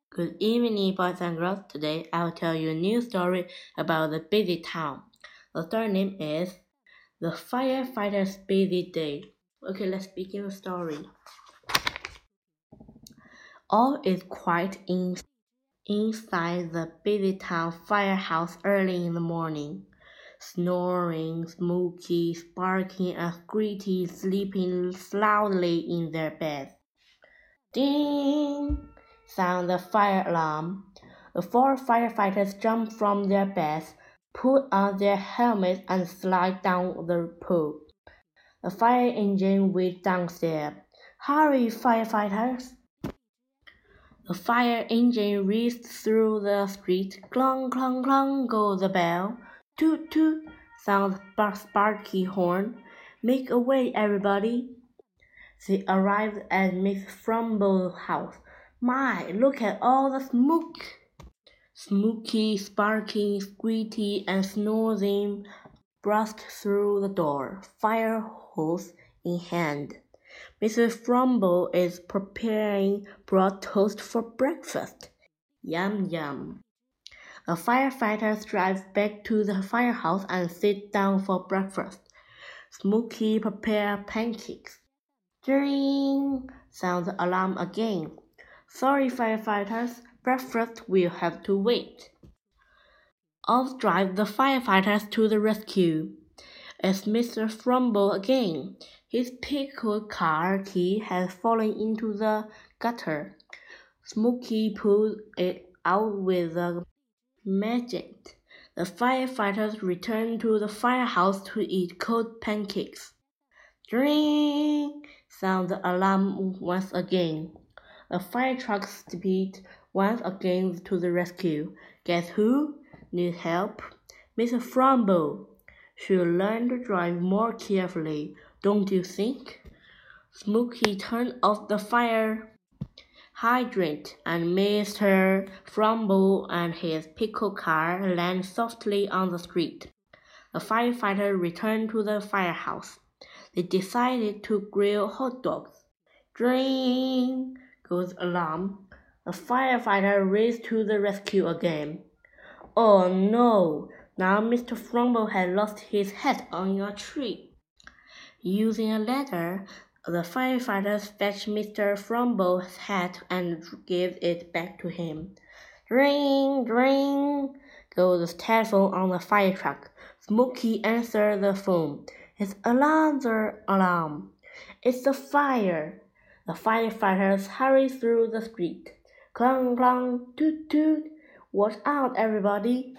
Good evening, boys and girls. Today I will tell you a new story about the busy town. The story name is The Firefighter's Busy Day. Okay, let's begin the story. All is quiet inside the busy town firehouse early in the morning. Snoring, Smokey, Sparky, and Screety sleeping loudly in their beds. Ding! Sound the fire alarm. The 4 firefighters jump from their beds, put on their helmets, and slide down the pole. The fire engine waits downstairs. Hurry, firefighters! The fire engine races through the street. Clong, clong, clong goes the bell. Toot, toot! Sounds Sparky horn. Make a way, everybody! They arrived at Miss Frumble's house. My, look at all the smoke! Smokey, Sparky, Screety, and Snoring burst through the door, fire hose in hand. Mrs. Frumble is preparing broad toast for breakfast. Yum, yum. The firefighters drive back to the firehouse and sit down for breakfast. Smokey prepares pancakes. Ding! Sounds the alarm again. Sorry, firefighters, breakfast will have to wait. Off drive the firefighters to the rescue. It's Mr. Frumble again. His pickled car key has fallen into the gutter. Smokey pulled it out with a magnet. The firefighters return to the firehouse to eat cold pancakes. Ding! Sound the alarm once again. The fire truck speeds once again to the rescue. Guess who? Need help? Mr. Frumble. Should learn to drive more carefully, don't you think? Smokey turned off the fire hydrant, and Mr. Frumble and his pickle car landed softly on the street. The firefighter returned to the firehouse. They decided to grill hot dogs. Ding! Goes the alarm. The firefighter raced to the rescue again. Oh no! Now Mr. Frumble had lost his hat on a tree. Using a ladder, the firefighters fetched Mr. Frumble's hat and gave it back to him. Ring! Ring! Goes the telephone on the fire truck. Smokey answered the phone. It's another alarm. It's a fire. The firefighters hurry through the street. Clong, clong, toot, toot. Watch out, everybody.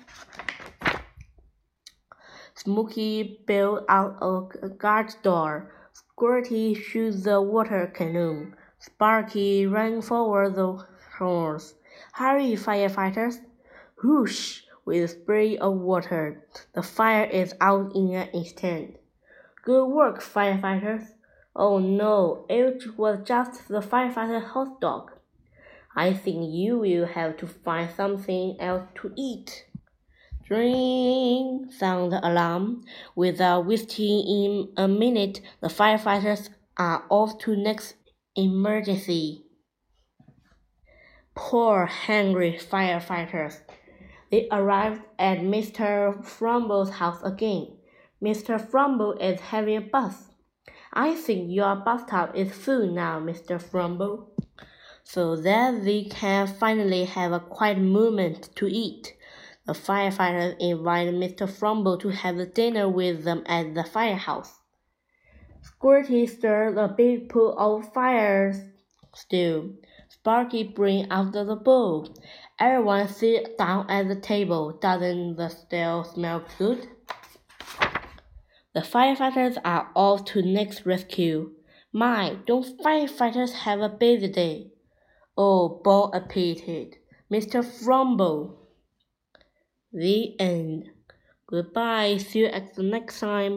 Smokey bailed out a guard's door. Squirty shoots the water canoe. Sparky ran forward the horse. Hurry, firefighters. Whoosh! With a spray of water. The fire is out in an instant. Good work, firefighters. Oh no, it was just the firefighter's hot dog. I think you will have to find something else to eat. Ding! Sound the alarm. Without wasting in a minute, the firefighters are off to next emergency. Poor hungry firefighters. They arrived at Mr. Frumble's house again. Mr. Frumble is having a bath. I think your bathtub is full now, Mr. Frumble. So that they can finally have a quiet moment to eat. The firefighters invited Mr. Frumble to have dinner with them at the firehouse. Squirty stirred a big pool of fire stew. Sparky bring out the bowl. Everyone sit down at the table. Doesn't the stew smell good? The firefighters are off to next rescue. My, don't firefighters have a busy day? Oh, bon appetit, Mr. Frumble. The end. Goodbye. See you at the next time.